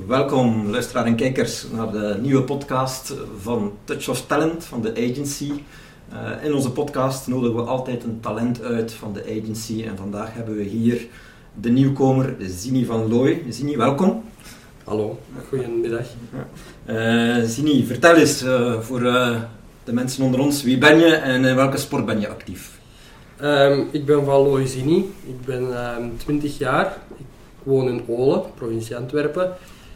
Welkom luisteraar en kijkers naar de nieuwe podcast van Touch of Talent van de agency. In onze podcast nodigen we altijd een talent uit van de agency en vandaag hebben we hier de nieuwkomer Zini van Looy. Zini, welkom. Hallo, goedemiddag. Zini, vertel eens voor de mensen onder ons, wie ben je en in welke sport ben je actief? Ik ben van Looy Zini, ik ben 20 jaar, ik woon in Olen, provincie Antwerpen.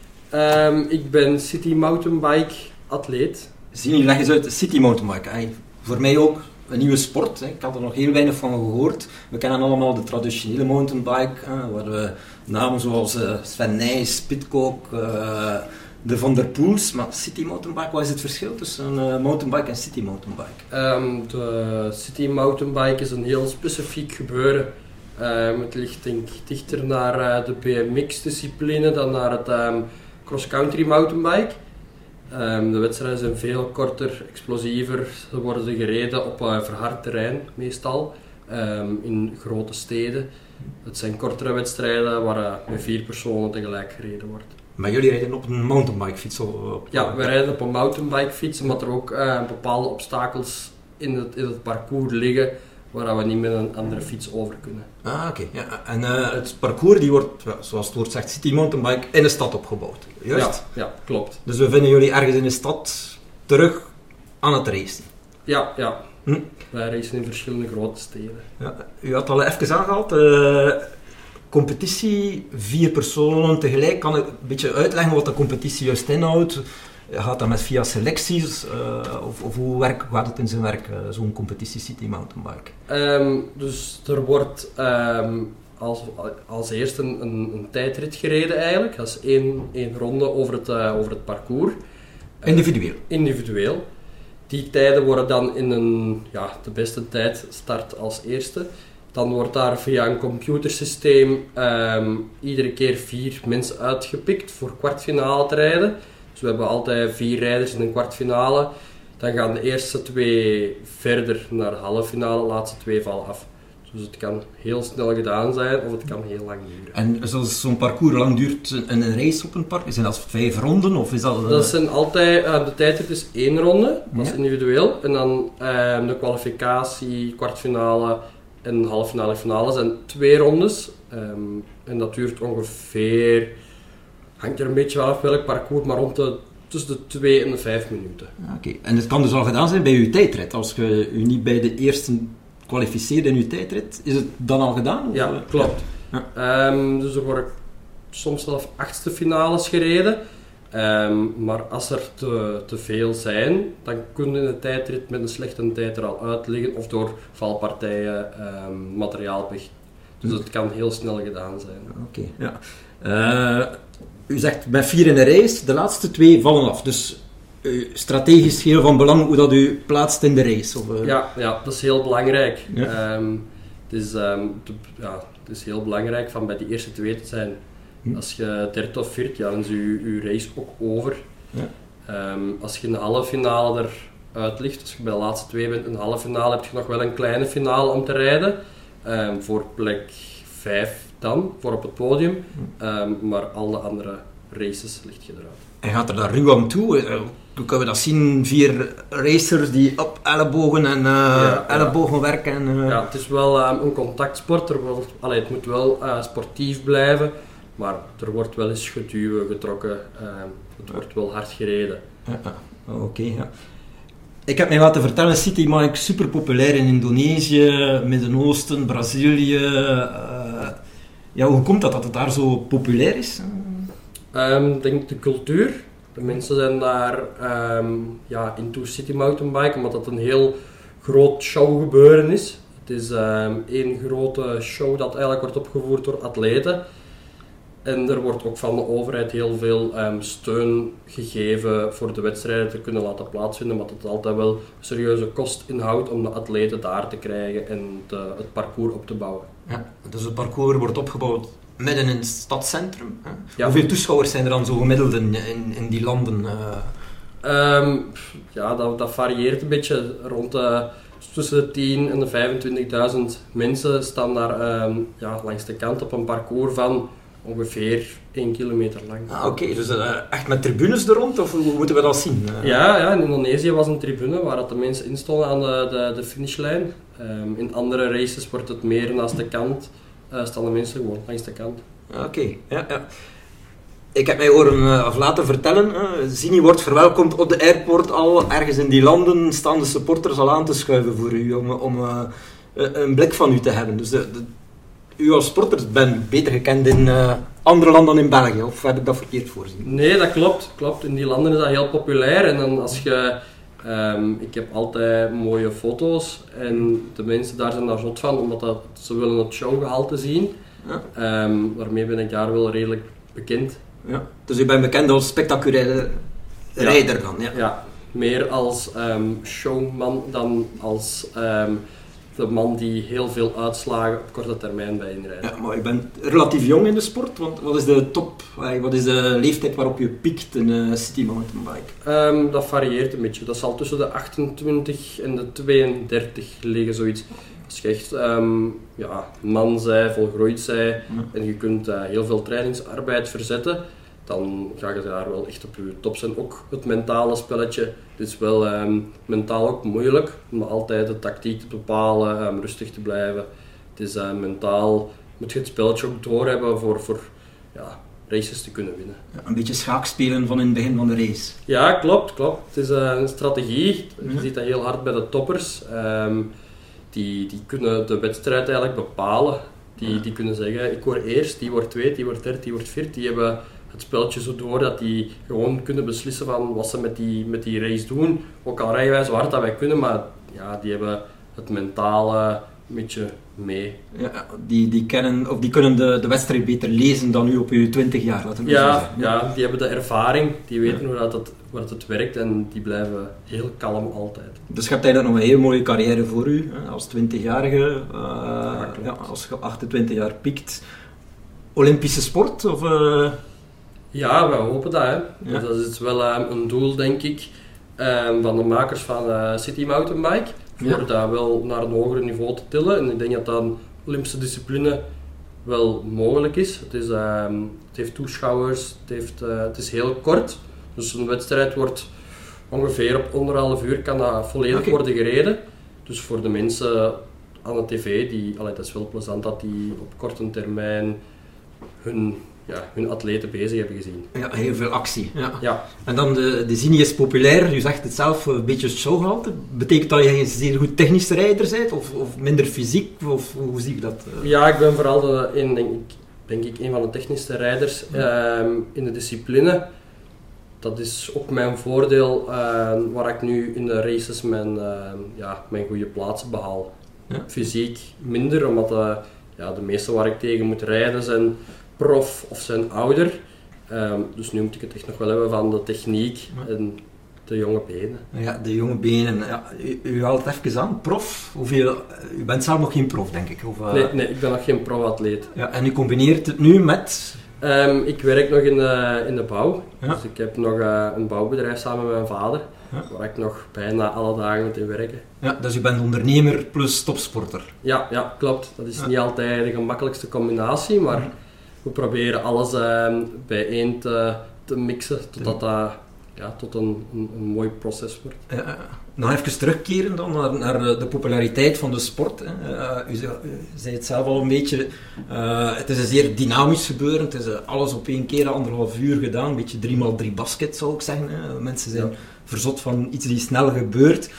Ik ben city mountainbike atleet. Zini, leg eens uit, city mountainbike. Voor mij ook een nieuwe sport. Ik had er nog heel weinig van gehoord. We kennen allemaal de traditionele mountainbike, waar we namen zoals Sven Nys, Pidcock, de Van der Poels. Maar city mountainbike, wat is het verschil tussen een mountainbike en city mountainbike? De city mountainbike is een heel specifiek gebeuren. Het ligt denk ik dichter naar de BMX-discipline dan naar het cross-country mountainbike. De wedstrijden zijn veel korter, explosiever. Ze worden gereden op verhard terrein meestal, in grote steden. Het zijn kortere wedstrijden waar met 4 personen tegelijk gereden wordt. Maar jullie rijden op een mountainbikefiets? Ja, wij rijden op een mountainbikefiets, omdat er ook bepaalde obstakels in het parcours liggen waar we niet met een andere fiets over kunnen. Oké. Ja. En het parcours die wordt, zoals het woord zegt, city mountainbike in de stad opgebouwd. Juist? Ja, klopt. Dus we vinden jullie ergens in de stad terug aan het racen? Ja. Wij racen in verschillende grote steden. Ja, u had al even aangehaald, competitie, 4 personen tegelijk. Kan ik een beetje uitleggen wat de competitie juist inhoudt? Gaat dat met via selecties of hoe gaat het in zijn werk, zo'n competitie city mountainbike? Dus er wordt als eerste een tijdrit gereden eigenlijk. Dat is één ronde over het parcours. Individueel. Die tijden worden dan in de beste tijd start als eerste. Dan wordt daar via een computersysteem iedere keer 4 mensen uitgepikt voor kwartfinale te rijden. Dus we hebben altijd 4 rijders in een kwartfinale. Dan gaan de eerste 2 verder naar de halve finale, de laatste 2 vallen af. Dus het kan heel snel gedaan zijn of het kan heel lang duren. En zoals zo'n parcours lang duurt een race op een park? Zijn dat 5 ronden? Of is dat, dat zijn altijd, de tijdrit is 1 ronde, dat is individueel. En dan de kwalificatie, kwartfinale en halve finale en finale zijn 2 rondes. En dat duurt ongeveer, hangt er een beetje af welk parcours, maar tussen de 2 en de 5 minuten. Oké. En het kan dus al gedaan zijn bij uw tijdrit. Als je u niet bij de eerste kwalificeert in uw tijdrit, is het dan al gedaan? Of? Ja, klopt. Ja. Dus er worden soms zelfs 8e finales gereden. Maar als er te veel zijn, dan kunnen de tijdrit met een slechte tijd er al uit liggen of door valpartijen materiaal weg. Dus het kan heel snel gedaan zijn. Oké. Ja. U zegt met 4 in een race, de laatste 2 vallen af. Dus strategisch heel van belang hoe dat u plaatst in de race? Of, Ja, dat is heel belangrijk. Ja. Het is heel belangrijk van bij die eerste 2 te zijn. Als je derde of vierde, dan is je race ook over. Ja. Als je in de halve finale eruit ligt, als je bij de laatste 2 bent in de halve finale, heb je nog wel een kleine finale om te rijden. Voor plek 5 dan, voor op het podium. Maar alle andere races ligt je eruit. En gaat er daar ruw aan toe? Hoe kunnen we dat zien? 4 racers die op ellebogen en ellebogen werken? Ja, het is wel een contactsport. Het moet wel sportief blijven. Maar er wordt wel eens geduwen, getrokken. Het wordt wel hard gereden. Oké. Ik heb mij laten vertellen, citybike is super populair in Indonesië, Midden-Oosten, Brazilië. Hoe komt dat het daar zo populair is? Ik denk de cultuur. De mensen zijn daar into city mountainbike, omdat dat een heel groot showgebeuren is. Het is één grote show dat eigenlijk wordt opgevoerd door atleten. En er wordt ook van de overheid heel veel steun gegeven voor de wedstrijden te kunnen laten plaatsvinden, maar het altijd wel een serieuze kost inhoudt om de atleten daar te krijgen en het parcours op te bouwen. Ja, dus het parcours wordt opgebouwd midden in het stadscentrum. Hè? Ja. Hoeveel toeschouwers zijn er dan zo gemiddeld in die landen? Dat varieert een beetje. Tussen de 10.000 en de 25.000 mensen staan daar langs de kant op een parcours van ongeveer 1 kilometer lang. Oké, dus echt met tribunes er rond, of hoe moeten we dat zien? Ja, in Indonesië was een tribune waar dat de mensen instonden aan de finishlijn. In andere races wordt het meer naast de kant, staan de mensen gewoon langs de kant. Oké. Ja. Ik heb mij horen of laten vertellen, Zini wordt verwelkomd op de airport al. Ergens in die landen staan de supporters al aan te schuiven voor u, om een blik van u te hebben. Dus u als sporter bent beter gekend in andere landen dan in België, of heb ik dat verkeerd voorzien? Nee, dat klopt. In die landen is dat heel populair. En dan als je... ik heb altijd mooie foto's en de mensen daar zijn daar zot van, omdat ze willen het showgehalte zien. Ja. Daarmee ben ik daar wel redelijk bekend. Ja. Dus u bent bekend als spectaculaire rijder dan? Ja. Ja, meer als showman dan als de man die heel veel uitslagen op korte termijn bij inrijdt. Ja, maar je bent relatief jong in de sport, want wat is de top, wat is de leeftijd waarop je piekt in een city mountainbike? Dat varieert een beetje. Dat zal tussen de 28 en de 32 liggen, zoiets. Als je echt man zij, volgroeid zij en je kunt heel veel trainingsarbeid verzetten, dan ga je daar wel echt op je top zijn. Ook het mentale spelletje, het is wel mentaal ook moeilijk, om altijd de tactiek te bepalen, rustig te blijven. Het is mentaal, moet je het spelletje ook doorhebben voor races te kunnen winnen. Ja, een beetje schaakspelen van in het begin van de race. Ja, klopt. Het is een strategie, je ziet dat heel hard bij de toppers. Die kunnen de wedstrijd eigenlijk bepalen. Die kunnen zeggen, ik word eerst, die wordt tweede, die wordt derde, die wordt vierde. Die hebben het spelletje zo door dat die gewoon kunnen beslissen van wat ze met die race doen. Ook al rijden wij zo hard dat wij kunnen, maar die hebben het mentale een beetje mee. Ja, die kunnen de wedstrijd beter lezen dan u op uw 20 jaar, laten we zeggen. Ja, die hebben de ervaring, die weten hoe het werkt en die blijven heel kalm altijd. Dus je hebt eigenlijk nog een heel mooie carrière voor u, als 20-jarige, als je 28 jaar piekt. Olympische sport? Of, Ja, we hopen dat. Hè. Ja. Dat is wel een doel, denk ik, van de makers van City Mountainbike. Voor dat wel naar een hoger niveau te tillen. En ik denk dat dat een Olympische discipline wel mogelijk is. Het heeft toeschouwers, het is heel kort. Dus een wedstrijd wordt ongeveer op 1,5 uur kan dat volledig worden gereden. Dus voor de mensen aan de tv, dat is wel plezant dat die op korte termijn hun atleten bezig hebben gezien. Ja, heel veel actie. Ja. En dan de Zini is populair, u zegt het zelf, een beetje showgehalte. Betekent dat je een zeer goed technische rijder bent, of minder fysiek, of hoe zie je dat? Ja, ik ben vooral denk ik een van de technische rijders in de discipline. Dat is ook mijn voordeel, waar ik nu in de races mijn goede plaatsen behaal. Ja. Fysiek minder, omdat de meeste waar ik tegen moet rijden zijn prof of zijn ouder. Dus nu moet ik het echt nog wel hebben van de techniek en de jonge benen. Ja, de jonge benen. Ja, u haalt het even aan. Prof, u bent zelf nog geen prof, denk ik? Of, Nee, ik ben nog geen pro-atleet. Ja, en u combineert het nu met... Ik werk nog in de bouw. Ja. Dus ik heb nog een bouwbedrijf samen met mijn vader, waar ik nog bijna alle dagen moet in werken. Ja, dus u bent ondernemer plus topsporter. Ja, klopt. Dat is niet altijd de gemakkelijkste combinatie, maar we proberen alles bijeen te mixen, totdat dat tot een mooi proces wordt. Nog even terugkeren dan naar de populariteit van de sport. U zei het zelf al een beetje, het is een zeer dynamisch gebeuren, het is alles op één keer, 1,5 uur gedaan, een beetje 3x3 basket zou ik zeggen. Mensen zijn verzot van iets die snel gebeurt.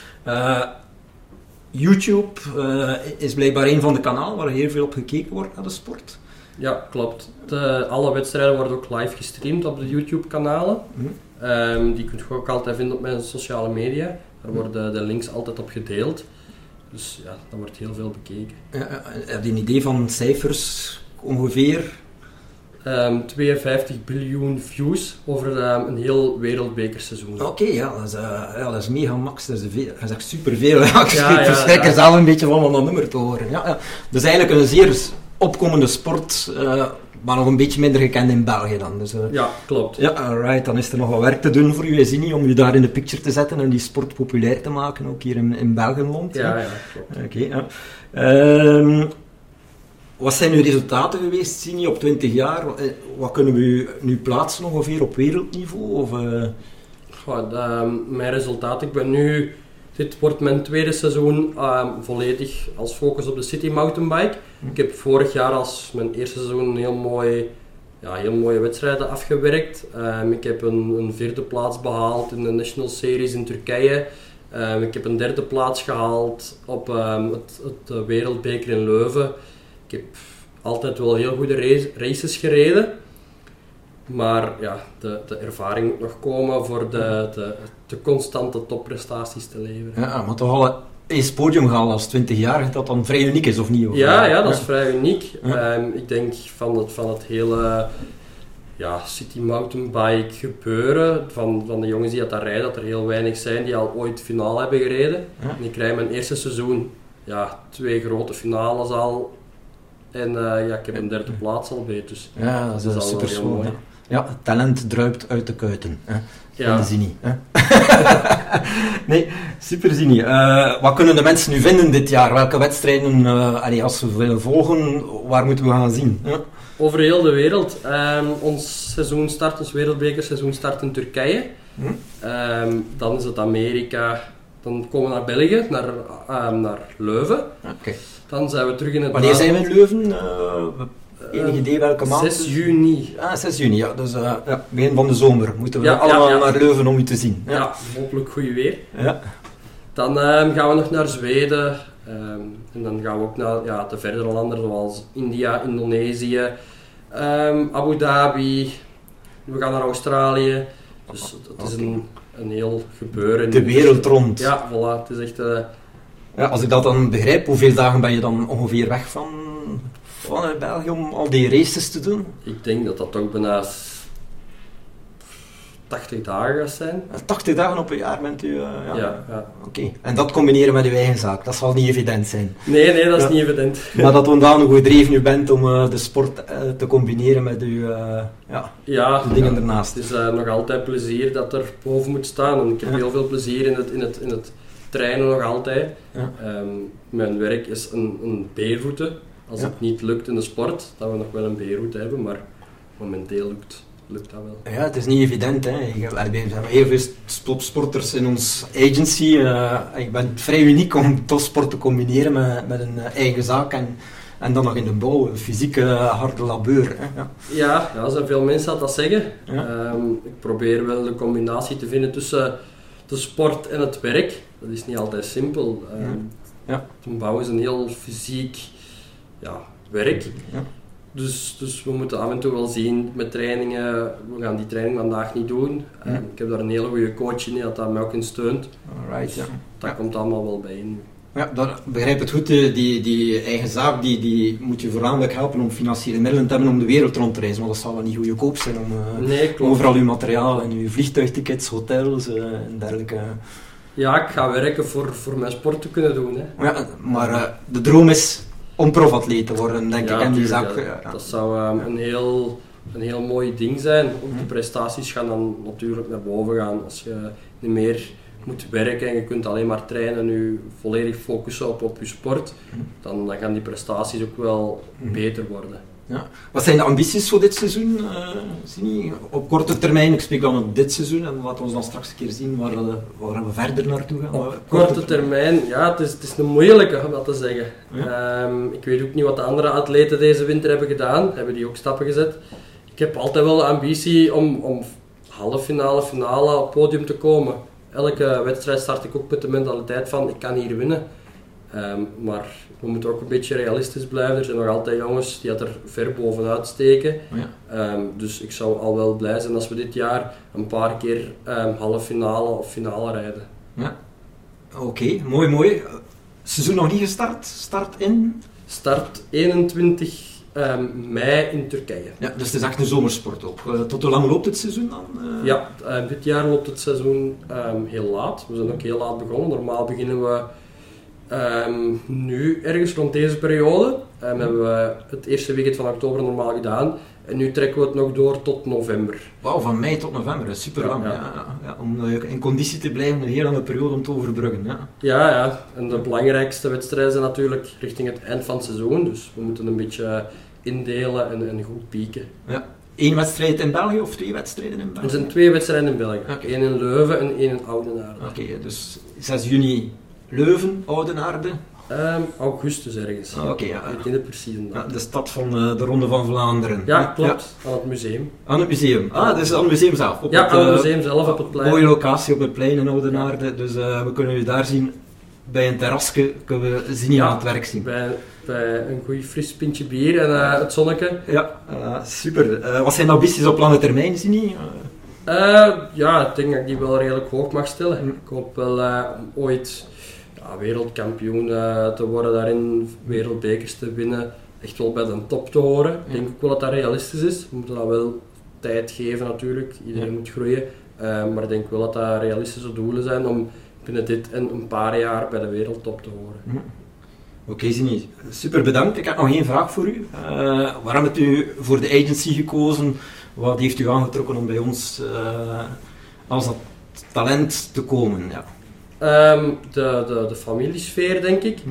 YouTube is blijkbaar een van de kanalen waar heel veel op gekeken wordt naar de sport. Ja, klopt. Alle wedstrijden worden ook live gestreamd op de YouTube-kanalen. Die kun je ook altijd vinden op mijn sociale media. Daar worden de links altijd op gedeeld. Dus ja, dat wordt heel veel bekeken. Heb je een idee van cijfers ongeveer? 52 biljoen views over een heel wereldbekerseizoen. Oké, dat is mega max. Dat is echt superveel. Ik verschrik er zelf een beetje van om dat nummer te horen. Dus eigenlijk een zeer opkomende sport, maar nog een beetje minder gekend in België dan. Dus, ja, klopt. Ja, alright, dan is er nog wat werk te doen voor u, Zini, om u daar in de picture te zetten en die sport populair te maken, ook hier in Belgenland. Ja, klopt. Oké. Wat zijn uw resultaten geweest, Sini, op 20 jaar? Wat kunnen we u nu plaatsen ongeveer op wereldniveau? Of, mijn resultaat, dit wordt mijn tweede seizoen volledig als focus op de City Mountainbike. Ik heb vorig jaar als mijn eerste seizoen heel mooie wedstrijden afgewerkt. Ik heb een 4e plaats behaald in de National Series in Turkije. Ik heb een 3e plaats gehaald op het Wereldbeker in Leuven. Ik heb altijd wel heel goede races gereden. Maar ja, de ervaring moet nog komen voor de constante topprestaties te leveren. Ja, maar toch al eens podium gehaald als 20-jarige, dat dan vrij uniek is, of niet? Of, ja, dat is vrij uniek. Ja. Ik denk van het hele City Mountainbike gebeuren, van de jongens die dat rijden, dat er heel weinig zijn die al ooit finale hebben gereden. Ja. En ik rijd mijn eerste seizoen 2 grote finales al. En ik heb een 3e plaats al bij. Dus ja, dat is super mooi. Ja, talent druipt uit de kuiten. Hè? Ja. Van de Zini. Hè? Nee, super Zini. Wat kunnen de mensen nu vinden dit jaar? Welke wedstrijden, als we willen volgen, waar moeten we gaan zien? Hè? Over heel de wereld. Ons wereldbekerseizoen start in Turkije. Dan is het Amerika. Dan komen we naar België, naar Leuven. Okay. Dan zijn we terug in het Wanneer zijn we in Leuven? Enig idee welke maand? 6 juni. 6 juni, ja. Dus begin van de zomer moeten we allemaal naar Leuven om u te zien. Ja, hopelijk goed weer. Ja. Dan gaan we nog naar Zweden. En dan gaan we ook naar de verdere landen zoals India, Indonesië, Abu Dhabi. We gaan naar Australië. Dus het is een heel gebeuren. De wereld rond. Ja, voilà. Het is echt... als ik dat dan begrijp, hoeveel dagen ben je dan ongeveer weg vanuit België om al die races te doen? Ik denk dat toch bijna 80 dagen gaat zijn. 80 dagen op een jaar bent u... Ja. Oké. En dat combineren met uw eigen zaak, dat zal niet evident zijn. Nee, dat is niet evident. Maar dat ondanig gedreven u bent om de sport te combineren met uw de dingen ernaast. Het is nog altijd plezier dat er boven moet staan. En ik heb heel veel plezier in het trainen nog altijd. Ja. Mijn werk is een B-route. Als het niet lukt in de sport, dat we nog wel een B-route hebben, maar momenteel lukt dat wel. Ja, het is niet evident. Hè. We hebben heel veel sporters in ons agency. Ik ben vrij uniek om topsport te combineren met een eigen zaak en dan nog in de bouw, fysieke harde labeur. Hè. Ja, er zijn veel mensen dat zeggen. Ja. Ik probeer wel de combinatie te vinden tussen de sport en het werk. Dat is niet altijd simpel. Een bouw is een heel fysiek werk. Ja. Dus we moeten af en toe wel zien met trainingen. We gaan die training vandaag niet doen. Ik heb daar een hele goede coach in dat mij ook in steunt. Alright, dus dat komt allemaal wel bij in. Ja, dat begrijp het goed. Die eigen zaak die moet je voornamelijk helpen om financiële middelen te hebben om de wereld rond te reizen. Want dat zal wel niet goedkoop zijn om overal uw materiaal en uw vliegtuigtickets, hotels en dergelijke. Ja, ik ga werken voor mijn sport te kunnen doen. Hè. Ja, maar de droom is om profatleet te worden, denk ik. En die zaak, dat zou een heel mooi ding zijn. Ook de prestaties gaan dan natuurlijk naar boven gaan. Als je niet meer moet werken en je kunt alleen maar trainen en je volledig focussen op je sport, dan gaan die prestaties ook wel beter worden. Ja. Wat zijn de ambities voor dit seizoen? Op korte termijn, ik spreek dan op dit seizoen en laten we dan straks een keer zien waar we verder naartoe gaan. Op korte termijn, het is een moeilijke om dat te zeggen. Ja. Ik weet ook niet wat de andere atleten deze winter hebben gedaan, hebben die ook stappen gezet. Ik heb altijd wel de ambitie om halve finale, finale op het podium te komen. Elke wedstrijd start ik ook met de mentaliteit van ik kan hier winnen. Maar we moeten ook een beetje realistisch blijven. Er zijn nog altijd jongens die er ver bovenuit steken. Dus ik zou al wel blij zijn als we dit jaar een paar keer halve finale of finale rijden. Ja. Oké, mooi. Seizoen nog niet gestart? Start 21 mei in Turkije. Ja, dus het is echt een zomersport ook. Tot hoe lang loopt het seizoen dan? Ja, dit jaar loopt het seizoen heel laat. We zijn ook heel laat begonnen. Normaal beginnen we nu ergens rond deze periode. Hebben we het eerste weekend van oktober normaal gedaan. En nu trekken we het nog door tot november. Wauw, van mei tot november, dat is super lang. Ja, om in conditie te blijven, een heel lange periode om te overbruggen. Ja. En de belangrijkste wedstrijden zijn natuurlijk richting het eind van het seizoen. Dus we moeten een beetje indelen en goed pieken. Ja. 1 wedstrijd in België of 2 wedstrijden in België? Er zijn 2 wedstrijden in België. Okay. 1 in Leuven en 1 in Oudenaarde. Oké, dus 6 juni Leuven, Oudenaarde. Augustus ergens. Oké, Ik weet niet de precieze datum. de stad van de Ronde van Vlaanderen. Ja, klopt. Aan het museum. Aan het museum. Dus aan het museum zelf. Aan het museum zelf op het plein. Mooie locatie op het plein in Oudenaarde. Dus we kunnen u daar zien. Bij een terrasje kunnen we Zini aan het werk zien. Bij een goed fris pintje bier en het zonneke. Ja, super. Wat zijn de ambities op lange termijn, Zini? Ik denk dat ik die wel redelijk hoog mag stellen. Ik hoop wel om ooit wereldkampioen te worden daarin, wereldbekers te winnen, echt wel bij de top te horen. Ik denk ook wel dat dat realistisch is. We moeten dat wel tijd geven natuurlijk, iedereen moet groeien. Maar ik denk wel dat dat realistische doelen zijn om binnen dit en een paar jaar bij de wereldtop te horen. Oké, Zini, super bedankt. Ik heb nog één vraag voor u. Waarom hebt u voor de agency gekozen? Wat heeft u aangetrokken om bij ons als dat talent te komen? Ja. De familiesfeer, denk ik.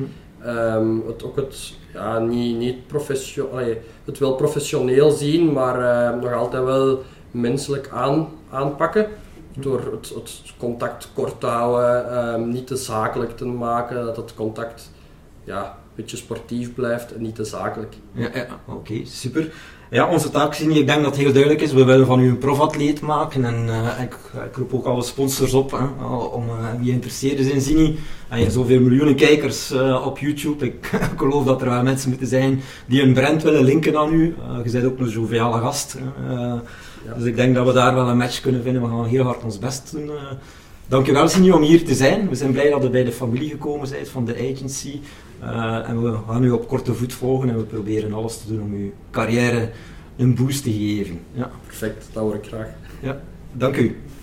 Het wel professioneel zien, maar nog altijd wel menselijk aanpakken. Door het contact kort te houden, niet te zakelijk te maken, dat het contact een beetje sportief blijft en niet te zakelijk. Ja, oké, super. Ja, onze taak, Zini, ik denk dat het heel duidelijk is. We willen van u een profatleet maken en ik roep ook alle sponsors op om wie geïnteresseerd is in Zini. En je hebt zoveel miljoenen kijkers op YouTube. Ik geloof dat er wel mensen moeten zijn die een brand willen linken aan u. Je bent ook een joviale gast. Dus ik denk dat we daar wel een match kunnen vinden. We gaan heel hard ons best doen. Dankjewel, Zini, om hier te zijn. We zijn blij dat we bij de familie gekomen bent van de agency. En we gaan u op korte voet volgen en we proberen alles te doen om uw carrière een boost te geven. Ja. Perfect, dat hoor ik graag. Ja, dank u.